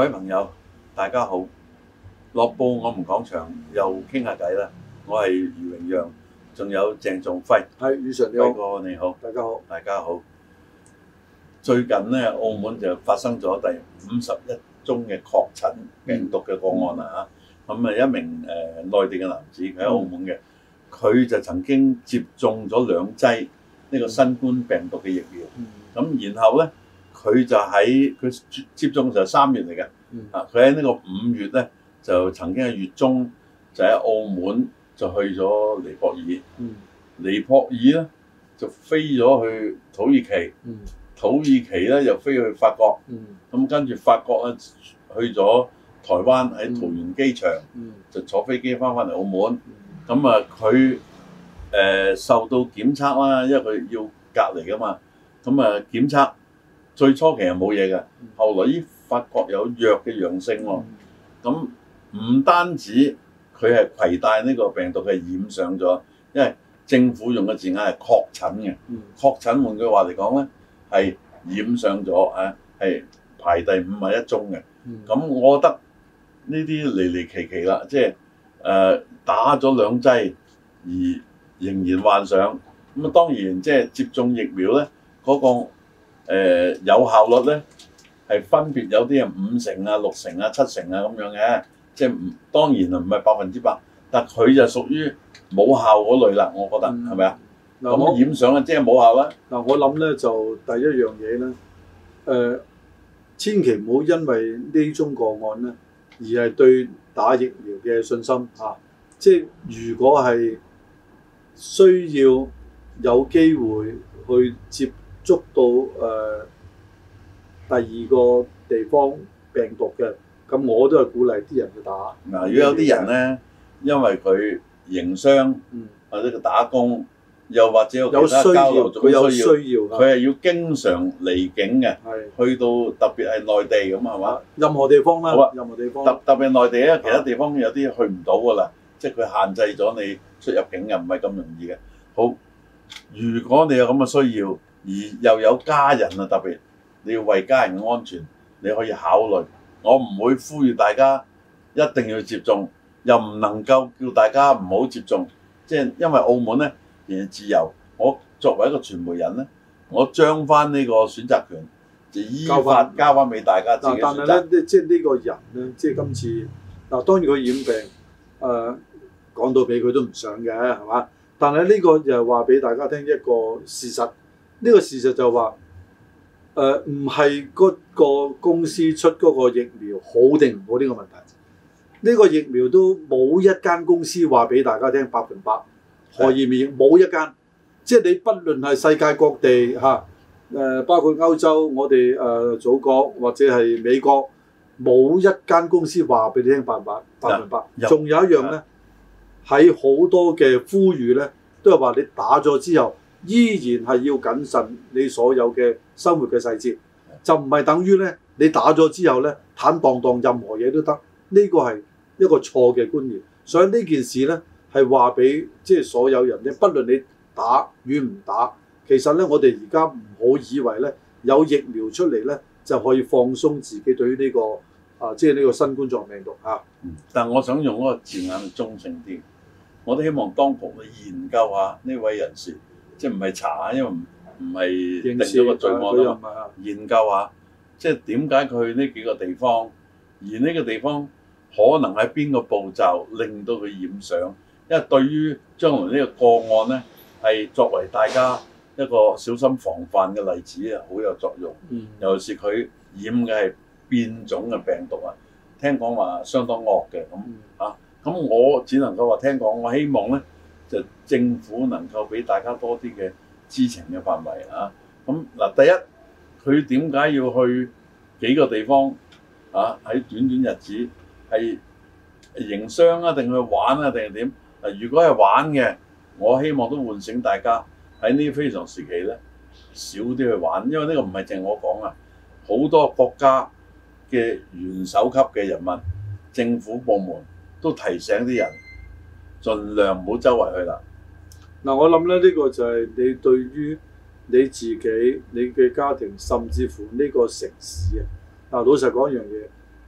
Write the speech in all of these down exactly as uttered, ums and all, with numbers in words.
各位朋友，大家好！樂報我們講場又傾下偈啦。我係余榮陽，仲有鄭仲輝。 係，余 Sir 你好。 輝哥你好， 大家好， 大家好。最近咧，澳門就發生咗第五十一宗嘅確診病毒嘅個案啦嚇。咁啊、嗯，一名誒、呃、內地嘅男子，佢喺澳門嘅，佢、嗯、就曾經接種咗兩劑呢個新冠病毒嘅疫苗。咁、嗯、然後咧，佢就喺佢接種就係三月嚟嘅。嗯、啊，佢喺呢個五月咧，就曾經喺月中就喺澳門就去咗尼泊爾。嗯、尼泊爾咧就飛咗去土耳其。嗯、土耳其咧又飛去法國。咁、嗯、跟住法國咧去咗台灣喺桃園機場，嗯、就坐飛機翻返嚟澳門。咁、嗯、啊，佢誒、呃、受到檢測啦，因為佢要隔離噶嘛。咁啊，檢測最初其實冇嘢嘅，嗯、後來依發覺有弱嘅陽性喎。咁唔、嗯、單止佢係攜帶呢個病毒係染上咗，因為政府用嘅字眼係確診嘅。嗯、確診換句話嚟講咧，係染上咗啊，係排第五十一宗嘅。咁、嗯、我覺得呢啲離離奇奇啦，即係誒、呃、打咗兩劑而仍然患上。咁啊當然即係接種疫苗咧，嗰、那個、呃、有效率咧係分別有啲係五成啊、六成啊、七成啊咁樣嘅，即係唔當然啊唔係百分之百，但佢就屬於冇效嗰類啦，我覺得係咪啊？咁、嗯、染上啊即係冇效啦。嗱我諗咧就第一樣嘢咧，誒、呃、千祈唔好因為呢宗個案咧而係對打疫苗嘅信心啊！即係如果係需要有機會去接觸到誒、呃、第二個地方病毒嘅，咁我都係鼓勵啲人去打。嗱， 如果有啲人咧，因為佢營商、嗯、或者佢打工，又或者有其他交流， 佢有需要， 佢係要經常離境嘅，的去到特別係內地咁係嘛？ 任何地方啦， 好啊， 任何地方。 特特別係內地咧，其他地方有啲去唔到㗎啦，即係佢限制咗你出入境，又唔係咁容易嘅。好，如果你有咁嘅需要，而又有家人啊，特別你要為家人嘅安全，你可以考慮。我唔會呼籲大家一定要接種，又唔能夠叫大家唔好接種。即係因為澳門咧仍然自由，我作為一個傳媒人咧，我將翻呢個選擇權就依法交翻俾大家自己選擇。 但係咧，即係呢個人咧，即係今次嗱，當然佢染病，誒、呃、講到俾佢都唔想嘅，係嘛？但係呢個又係話俾大家聽一個事實，呢、這個事實就話誒唔係嗰個公司出嗰個疫苗好定唔好呢個問題。呢、這個疫苗都冇一間公司話俾大家聽百分百可以免疫，冇一間。即係你不論係世界各地嚇，誒、啊、包括歐洲，我哋誒、呃、祖國或者係美國，冇一間公司話俾你聽百分百百分百。仲有一樣咧。喺好多嘅呼籲咧，都係話你打咗之後，依然係要謹慎你所有嘅生活嘅細節，就唔係等於咧你打咗之後咧坦蕩蕩任何嘢都得，呢個係一個錯嘅觀念。所以呢件事咧係話俾即係所有人咧，不論你打與唔打，其實咧我哋而家唔好以為咧有疫苗出嚟咧就可以放鬆自己對於呢、這個啊即係呢個新冠狀病毒嚇。啊嗯、但係我想用嗰個字眼去中性啲。我都希望當局去研究下呢位人士，即係唔係查，因為唔唔係定咗個罪案啊嘛。研究下，即係點解佢去呢幾個地方，而呢個地方可能喺邊個步驟令到佢染上？因為對於將來呢個個案咧，係作為大家一個小心防範嘅例子啊，好有作用。嗯、尤其是佢染嘅係變種嘅病毒啊，聽講話相當惡嘅咁嚇。咁我只能夠話聽講，我希望咧就政府能夠俾大家多啲嘅知情嘅範圍啊。咁嗱，第一佢點解要去幾個地方啊？喺短短日子係營商啊，定去玩啊，定係點？嗱，如果係玩嘅，我希望都喚醒大家喺呢啲非常時期咧少啲去玩，因為呢個唔係淨係我講啊，好多國家嘅元首級嘅人物、政府部門。都提醒啲人，盡量唔好周圍去啦。 嗱，我諗咧，呢個就係你對於你自己、你嘅家庭，甚至乎呢個城市啊。嗱，老實講一樣嘢，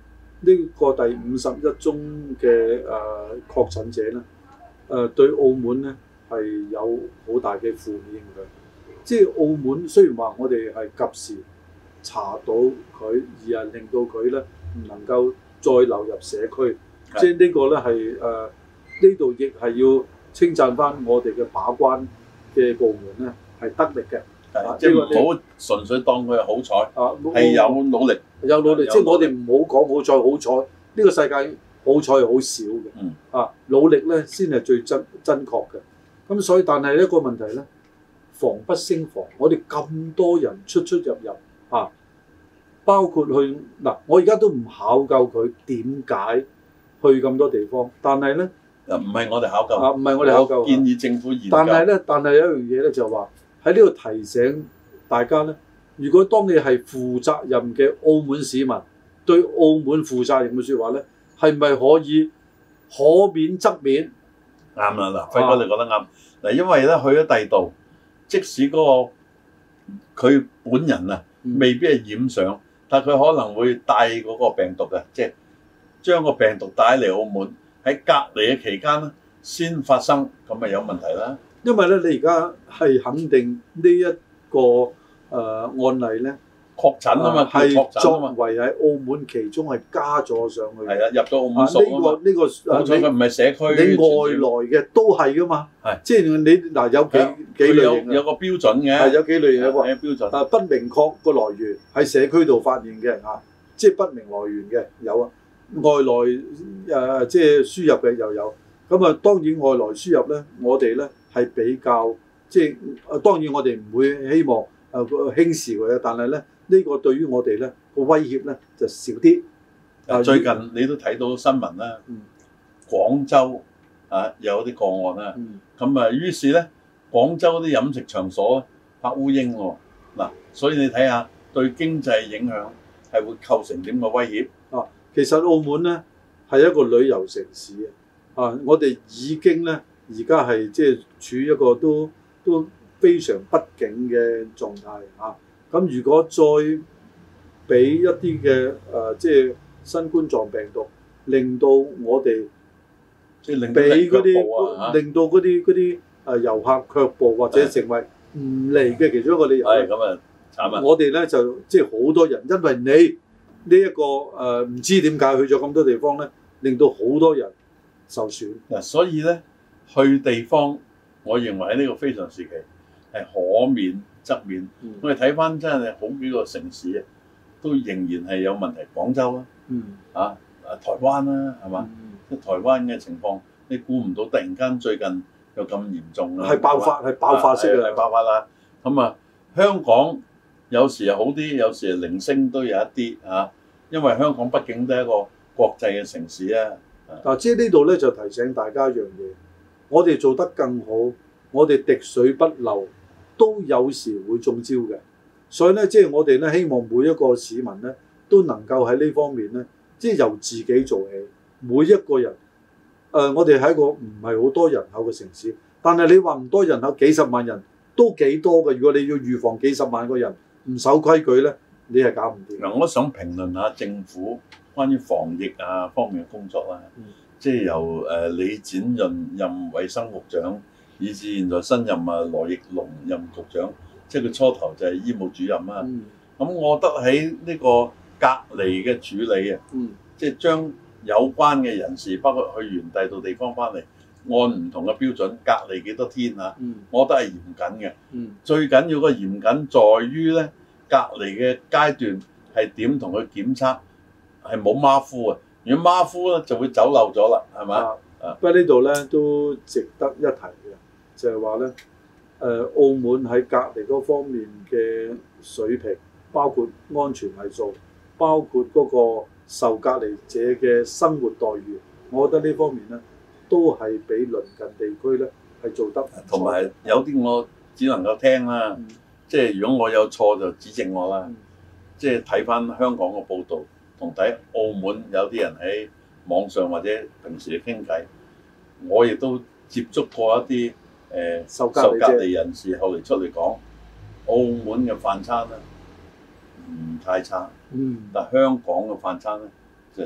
呢個第五十一宗嘅誒確診者咧，誒、呃、對澳門咧係有好大嘅負面影響。即係澳門雖然話我哋係及時查到佢，而係令到佢咧唔能夠再流入社區。的即係呢個咧係誒呢度亦係要稱讚翻我哋嘅把關嘅部門咧係得力嘅。 啊、即係唔好純粹當佢係好彩，係、啊、有努力， 有努力。即係我哋唔好講好彩，好彩呢個世界好彩係好少嘅。嗯、啊，努力咧先係最真真確嘅。咁所以，但係一個問題咧，防不勝防。我哋咁多人出出入入啊，包括去嗱、啊，我而家都唔考究佢點解去咁多地方，但係咧， 唔係我哋考究， 啊唔係我哋考究， 建議政府研究。 但係咧，但係有一樣嘢咧，就話喺呢度提醒大家咧，如果當你係負責任嘅澳門市民，對澳門負責任嘅説話咧，係咪可以可免則免？ 啱啦，嗱，輝哥你覺得啱。嗱、啊，因為咧去咗第二度，即使嗰、個佢本人啊，未必係染上，嗯、但係佢可能會帶嗰個病毒嘅，即係將個病毒帶嚟澳門，喺隔離嘅期間咧先發生，咁咪有問題啦。 因為咧，你而家係肯定呢一個誒、呃、案例咧確診啊嘛， 係、 呃、 作為喺澳門其中係加咗上去。 係啊，入咗澳門數啊嘛。呢、這個呢、這個好彩佢唔係社區。 你外來嘅都係噶嘛。係的，即係你嗱有幾的幾類型有有個標準嘅。 係有幾類型嘅喎。 標準。 啊，不明確個來源喺社區度發現嘅啊，即係不明來源嘅有啊，外來誒、呃、即係輸入嘅又有。咁啊，當然外來輸入咧，我哋咧。係比較即係，啊當然我哋唔會希望誒、呃、輕視佢嘅，但係咧呢、呢個對於我哋咧個威脅咧就少啲。 啊，最近你都睇到新聞啦，嗯、廣州啊有啲個案啦，咁、嗯、啊於是咧廣州啲飲食場所拍烏蠅喎，嗱，所以你睇下對經濟影響係會構成點嘅威脅啊。其實澳門咧係一個旅遊城市啊，我哋已經咧。而家係即係處於一個都都非常不景嘅狀態嚇。咁、啊、如果再俾一啲嘅誒即係新冠狀病毒，令到我哋即係令俾嗰啲令到嗰啲嗰啲誒遊客卻步，或者成為唔嚟嘅其中一個理由。 係咁啊，慘啊！ 我哋咧就即係好多人，因為你呢、這、一個誒唔、呃、知點解去咗咁多地方咧，令到好多人受損。 嗱，所以咧。去地方，我認為喺呢個非常時期係可免則免。嗯、我哋睇翻真係好幾個城市啊，都仍然係有問題。廣州啦，嗯、啊啊台灣啦，係嘛？即係、嗯、台灣嘅情況，你估唔到突然間最近又咁嚴重啦。 係爆發，係爆發式係爆發啦。咁啊，香港有時係好啲，有時係零星都有一啲啊。因為香港畢竟都係一個國際嘅城市啊。 嗱，即係呢度咧就提醒大家一樣嘢。我哋做得更好，我哋滴水不漏，都有時會中招嘅。所以咧，即係我哋咧希望每一個市民咧都能夠喺呢方面咧，即係由自己做起。每一個人，誒、呃，我哋係一個唔係好多人口嘅城市，但係你話唔多人口，幾十萬人都幾多嘅。如果你要預防幾十萬個人唔守規矩咧，你係搞唔掂。 嗱，我想評論下政府關於防疫啊方面嘅工作啦。嗯即係由誒李展潤任衛生局長，以至現在新任啊羅奕龍任局長，即係佢初頭就係醫務主任啊。咁、嗯、我覺得喺呢個隔離嘅處理啊，嗯、即係將有關嘅人士，包括去完第二度地方翻嚟，按唔同嘅標準隔離幾多天啊，嗯、我覺得係嚴謹嘅。嗯、最緊要個嚴謹在於咧，隔離嘅階段係點同佢檢測，係冇馬虎啊。如果馬虎咧，就會走漏咗啦，係嘛？啊， 不過呢度咧都值得一提嘅，就係話咧，誒、呃，澳門喺隔離嗰方面嘅水平，包括安全係數，包括嗰個受隔離者嘅生活待遇，我覺得呢方面咧都係比鄰近地區咧係做得。 同埋有啲我只能夠聽啦，嗯、即係如果我有錯就指正我啦，嗯、即係睇翻香港嘅報導。同睇澳門有啲人喺網上或者平時去傾偈，我亦都接觸過一啲誒、呃、受隔離人士，後嚟出嚟講，澳門嘅飯餐咧唔太差，嗯、但香港嘅飯餐咧就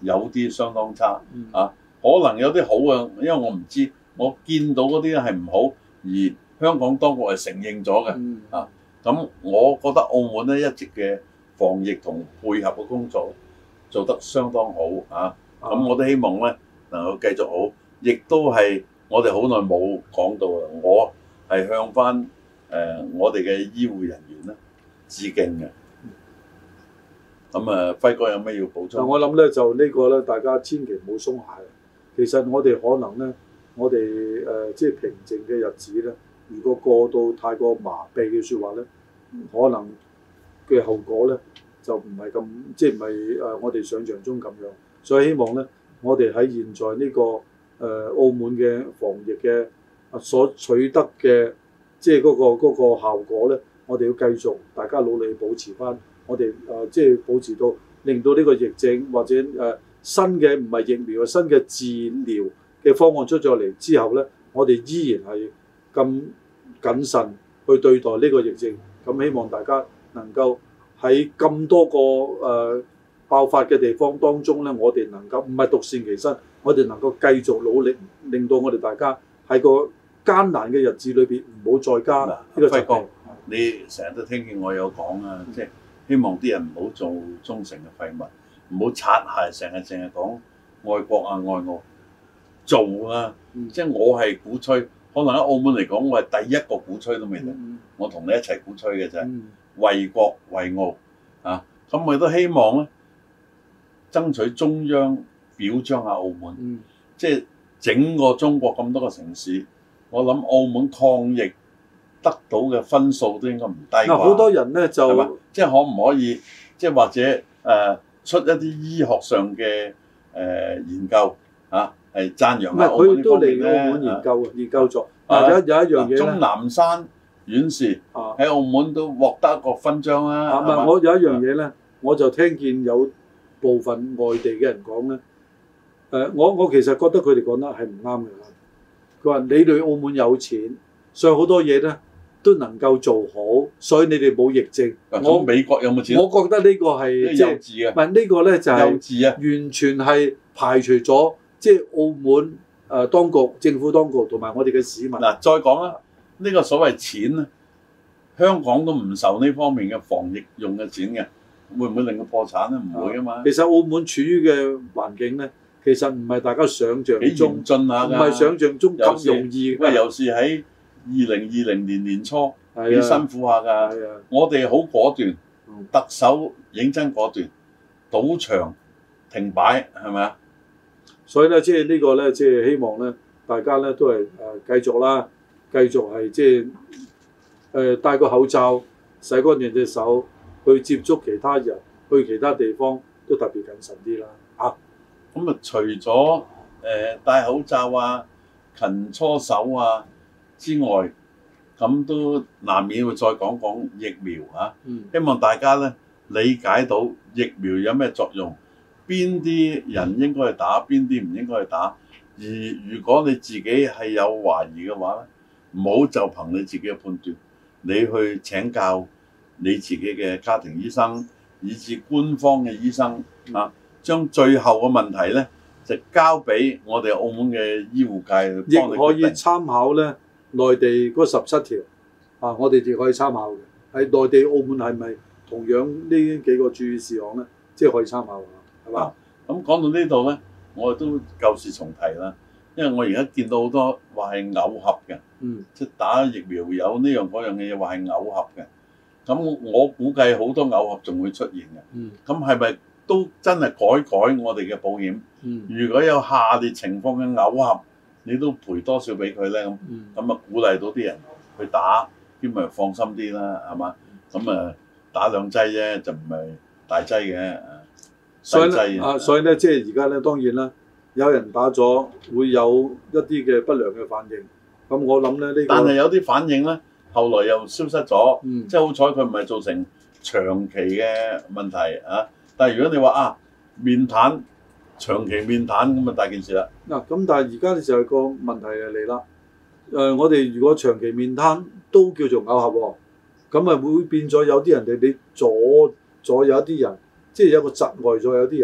有啲相當差、 嗯、 啊，可能有啲好嘅，因為我唔知，我見到嗰啲咧係唔好，而香港當局係承認咗嘅、嗯、啊。咁我覺得澳門咧一直嘅防疫同配合嘅工作做得相當好啊。咁我都希望咧能夠繼續好，亦都係我哋好耐冇講到啦。我係向翻誒、呃、我哋嘅醫護人員咧致敬嘅。咁啊，輝哥有咩要補充？ 我諗咧就呢個咧，大家千祈唔好鬆懈。其實我哋可能咧，我哋誒、呃、即係平靜嘅日子咧，如果過到太過麻痹嘅説話咧，可能嘅後果咧就唔係咁，即係唔係誒我哋想象中咁樣。所以希望咧，我哋喺現在呢、這個誒、呃、澳門嘅防疫嘅所取得嘅，即係嗰、那個那個效果咧，我哋要繼續大家努力保持翻。我哋誒、呃、即係保持到，令到呢個疫症或者誒、呃、新嘅唔係疫苗，新嘅治療嘅方案出咗嚟之後咧，我哋依然係咁謹慎去對待呢個疫症。咁希望大家能夠喺咁多個誒、呃、爆發嘅地方當中咧，我哋能夠唔係獨善其身，我哋能夠繼續努力，令到我哋大家喺個艱難嘅日子裏邊唔好再加呢個疾病。 你成日都聽見我有講啊，即係。希望啲人唔好做忠誠嘅廢物，唔好擦鞋，成日淨係講愛國啊愛澳，做啊！嗯、即係我係鼓吹，可能喺澳門嚟講，我係第一個鼓吹都未定。嗯、我同你一齊鼓吹嘅啫，嗯、為國為澳啊！咁我亦都希望咧，爭取中央表彰下澳門，嗯、即係整個中國咁多個城市，我諗澳門抗疫得到嘅分數都應該唔低啩。 好多人咧就即係可唔可以，即係或者誒、呃、出一啲醫學上嘅誒、呃、研究嚇，係讚揚下澳門呢方面咧。唔係，佢都嚟澳門研究，啊、研究咗。啊，有有一樣嘢，鍾南山院士喺澳門都獲得一個勳章啦。 啊，唔係，我有一樣嘢咧，我就聽見有部分外地嘅人講咧。誒、呃，我我其實覺得佢哋講得係唔啱嘅。佢話你哋澳門有錢，所以好多嘢咧都能夠做好，所以你哋冇疫症。 我美國有冇錢？ 我覺得呢個係幼稚啊！ 唔係呢個咧就係幼稚啊！ 完全係排除咗即係澳門誒、呃、當局、政府當局同埋我哋嘅市民。 嗱，再講啦，呢、這個所謂錢咧，香港都唔受呢方面嘅防疫用嘅錢嘅，會唔會令佢破產咧？唔會啊嘛。 其實澳門處於嘅環境咧，其實唔係大家想象中幾嚴峻下㗎，唔係想象中咁容易。 喂，尤其喺二零二零年年初幾、啊、辛苦下㗎，啊、我哋好果斷，嗯、特首認真果斷，賭場停擺係咪啊？ 所以咧，即係呢個咧，即係希望咧，大家咧都係誒繼續啦，繼續係即係誒戴個口罩，洗乾淨隻手，去接觸其他人，去其他地方都特別謹慎啲啦。啊， 咁啊，除咗誒、呃、戴口罩啊、勤搓手啊之外，咁都難免會再講講疫苗啊。嗯、希望大家咧理解到疫苗有咩作用，邊啲人應該去打，邊啲唔應該去打。而如果你自己係有懷疑嘅話咧，唔好就憑你自己嘅判斷，你去請教你自己嘅家庭醫生，以至官方嘅醫生啊，將最後嘅問題咧就交俾我哋澳門嘅醫護界去幫你決定。亦可以參考咧內地嗰十七條啊，我哋亦可以參考嘅。喺內地、澳門係咪同樣呢幾個注意事項咧？即係可以參考㗎，係嘛？ 咁講到呢度咧，我都舊事重提啦。因為我而家見到好多話係偶合嘅，嗯、即係打疫苗有呢樣嗰樣嘅嘢話係偶合嘅。咁我估計好多偶合仲會出現嘅。咁係咪都真係改改我哋嘅保險？嗯、如果有下列情況嘅偶合，你都賠多少俾佢咧？咁咁啊鼓勵到啲人去打，兼咪放心啲啦，係嘛？咁啊打兩劑啫，就唔係大劑嘅。 所以咧啊，所以咧即係而家咧，當然啦。有人打咗會有一啲嘅不良嘅反應，咁我諗咧呢個， 但係有啲反應咧，後來又消失咗，嗯、即係好彩佢唔係造成長期嘅問題啊！但係如果你話啊面癱，長期面癱咁啊大件事啦。 嗱咁、啊、但係而家就係個問題就嚟啦。誒、呃，我哋如果長期面癱都叫做偶合喎，咁啊會變咗有啲人哋你阻阻有一啲人，即係有個窒礙咗有啲人。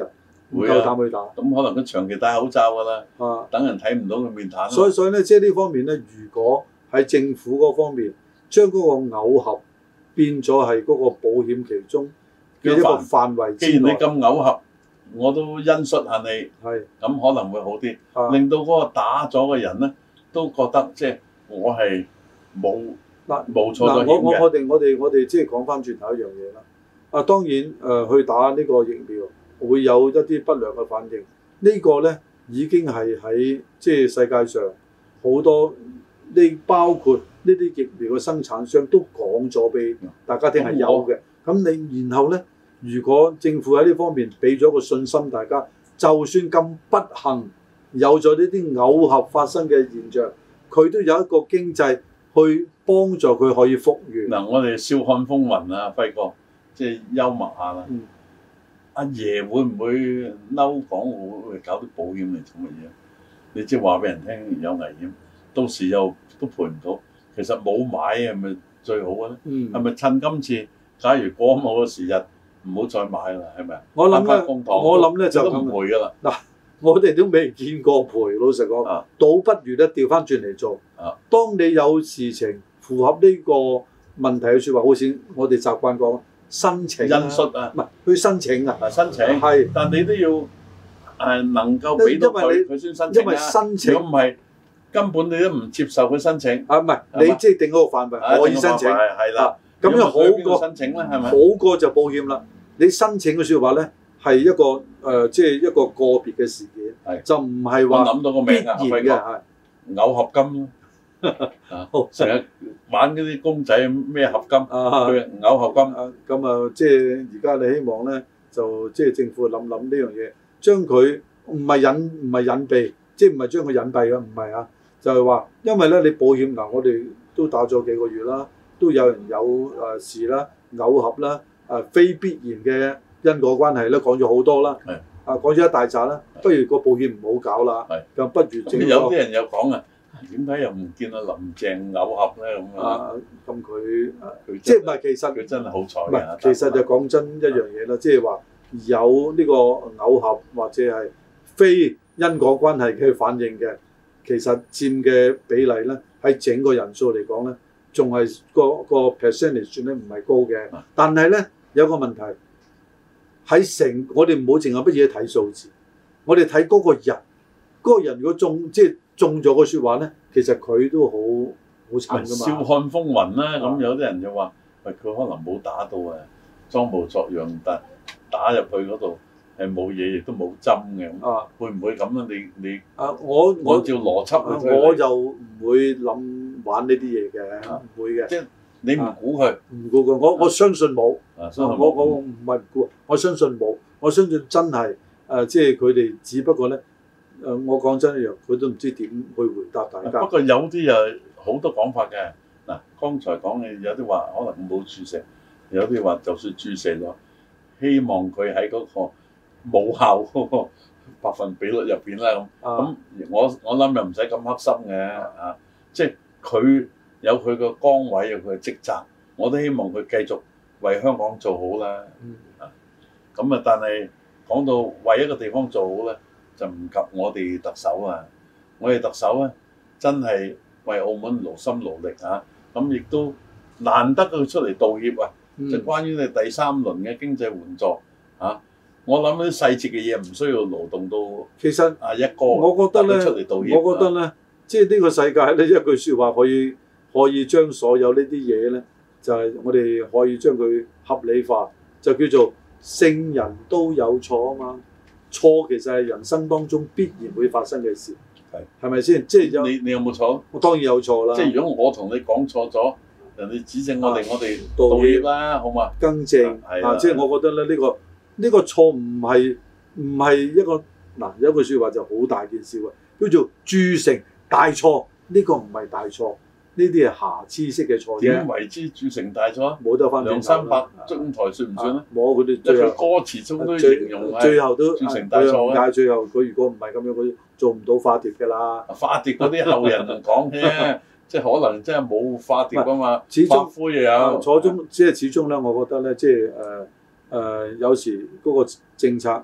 唔夠膽去打。 咁可能佢長期戴口罩㗎啦， 啊， 等人睇唔到佢面癱。 所以所以咧，即係呢方面咧，如果喺政府嗰方面將嗰個偶合變咗係嗰個保險其中嘅一個範圍之內， 既然你咁偶合，我都恩恤下你，係咁可能會好啲，啊、令到嗰個打咗嘅人咧都覺得即係我係冇嗱冇錯咗險嘅。我我我哋我哋我哋即係講翻轉頭一樣嘢啦。啊，當然誒、呃、去打呢個疫苗會有一啲不良嘅反應，這個、呢個咧已經係喺即係世界上好多呢包括呢啲疫苗嘅生產商都講咗俾大家聽係有嘅。咁你然後咧，如果政府喺呢方面俾咗個信心，大家就算咁不幸有咗呢啲偶合發生嘅現象，佢都有一個經濟去幫助佢可以復原。嗱、嗯，我哋笑看風雲啊，輝哥，即係幽默下啦。嗯、阿爺會唔會嬲港澳會搞啲保險嚟做乜嘢？你即係話俾人聽有危險，到時又都賠唔到。其實冇買係咪最好嘅咧？係咪、嗯、趁今次？假如過某個時日唔好再買啦，係咪啊？我諗咧，我諗咧就都唔賠噶啦。嗱，我哋都未見過賠，老實講，啊、倒不如咧調翻轉嚟做。啊，當你有事情符合呢個問題嘅説話，好似我哋習慣講申請、啊、恩恤啊，唔係去申請啊。啊，申請係，是但你都要誒、呃、能夠俾到佢，佢先申請啊。因為申請，如果唔係根本你都唔接受佢申請。啊，唔係你即係定嗰個範圍可以申請，係啦。咁樣好過申請啦，係咪？好過就保險啦。你申請嘅説話咧，係一個誒，即、呃、係、就是、一個個別嘅事件，係就唔係話諗到個名啊，輝哥係偶合金咯。啊，成日玩嗰啲公仔咩合金啊，佢偶合金。咁啊，即係而家你希望咧，就即係、就是、政府諗諗呢樣嘢，將佢唔係隱唔係隱蔽，即係唔係將佢隱蔽嘅，唔係啊，就係、是、話，因為咧你保險嗱，我哋都打咗幾個月啦。都有人有誒、呃、事啦、偶合啦、誒、呃、非必然嘅因果關係啦，講咗好多啦。係啊，講咗一大紮啦。不如個保險唔好搞啦。係，就不如整。有啲人有講啊，點解又唔見阿林鄭偶合咧咁啊？咁佢即係唔係其實佢真係好彩嘅。其實就講真一樣嘢啦，即係話有呢個偶合或者係非因果關係嘅反應嘅，其實佔嘅比例咧喺整個人數嚟講咧。仲係個個 percentage 咧唔係高嘅，但係咧有個問題喺成，我哋唔好淨係乜嘢睇數字，我哋睇嗰個人，嗰、嗰個人如果中即係中咗個説話咧，其實佢都好好慘噶嘛。笑看風雲啦，咁有啲人就話，喂，佢可能冇打到啊，裝模作樣，但打入去嗰度係冇嘢，亦都冇針嘅。啊，會唔會咁啊？你你啊，我我照邏輯去、啊、我就唔會諗。玩呢啲嘢嘅，唔會嘅。即係你唔估佢，唔估佢。我我相信冇。啊，我我唔係唔估，我相信冇。我相信真係誒，即係佢哋只不過咧誒，我講真一樣，佢都唔知點去回答大家。不過有啲又好多講法嘅。嗱，剛才講嘅有啲話可能冇注射，有啲話就算注射咗，希望佢喺嗰個冇效嗰個百分比率入邊啦。咁咁我我諗又唔使咁黑心嘅啊，即係。佢有佢個崗位，有佢嘅職責，我都希望佢繼續為香港做好啦。啊，咁啊，但係講到為一個地方做好咧，就唔及我哋特首啊。我哋特首咧，真係為澳門勞心勞力啊。咁亦都難得佢出嚟道歉啊。嗯、就關於你第三輪嘅經濟援助啊，我諗啲細節嘅嘢唔需要勞動到。其實啊，一個我覺得咧，出嚟道歉，我覺得咧。即係呢個世界咧，一句説話可以可以將所有呢啲嘢咧，就係、是、我哋可以將佢合理化，就叫做聖人都有錯啊嘛。錯其實係人生當中必然會發生嘅事，係係咪先？即係有你你有冇錯？我當然有錯啦。即係如果我同你講錯咗，人哋指正我哋，啊、我哋道歉啦，好嘛？更正啊！啊即係我覺得咧，呢、呢個呢、呢個錯唔係唔係一個嗱，有句説話就好大件事喎，叫做鑄成大錯。呢個唔係大錯，呢啲係瑕疵式嘅錯。點為之鑄成大錯？冇得翻兩三百中台算唔算咧？冇，佢哋最後歌詞中都形容最後都鑄成大錯。但係最後佢如果唔係咁樣，佢做唔到化蝶㗎啦。化蝶嗰啲後人講啫，即係可能真係冇化蝶㗎嘛。始終灰又有。初中即係始終咧，我覺得咧，即係誒誒，有時嗰個政策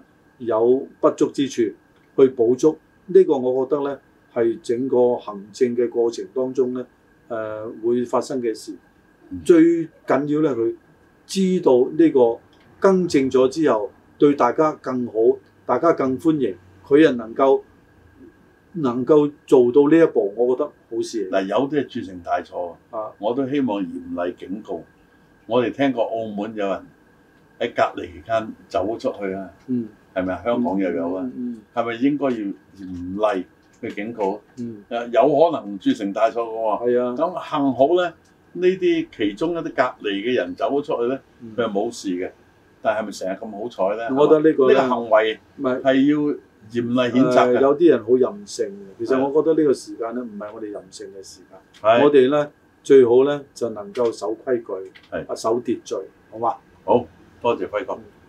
有不足之處去補足。呢、這個我覺得咧係整個行政嘅過程當中咧誒、呃、會發生嘅事。嗯、最緊要咧佢知道呢個更正咗之後對大家更好，大家更歡迎，佢又能夠能夠做到呢一步，我覺得好事。 嗱，有啲係鑄成大錯啊！我都希望嚴厲警告。我哋聽過澳門有人喺隔離期間走出去啊，嗯，係咪啊？香港又有啊，嗯，係咪應該要嚴厲去警告？嗯，誒有可能鑄成大錯嘅喎，係啊。咁幸好咧，呢啲其中一啲隔離嘅人走咗出去咧，佢係冇事嘅。但係咪成日咁好彩咧？我覺得呢個呢個行為係要嚴厲譴責嘅。有啲人好任性嘅，其實我覺得呢個時間咧唔係我哋任性嘅時間，我哋咧最好咧就能夠守規矩，係啊，守秩序，好嘛？好多謝輝哥。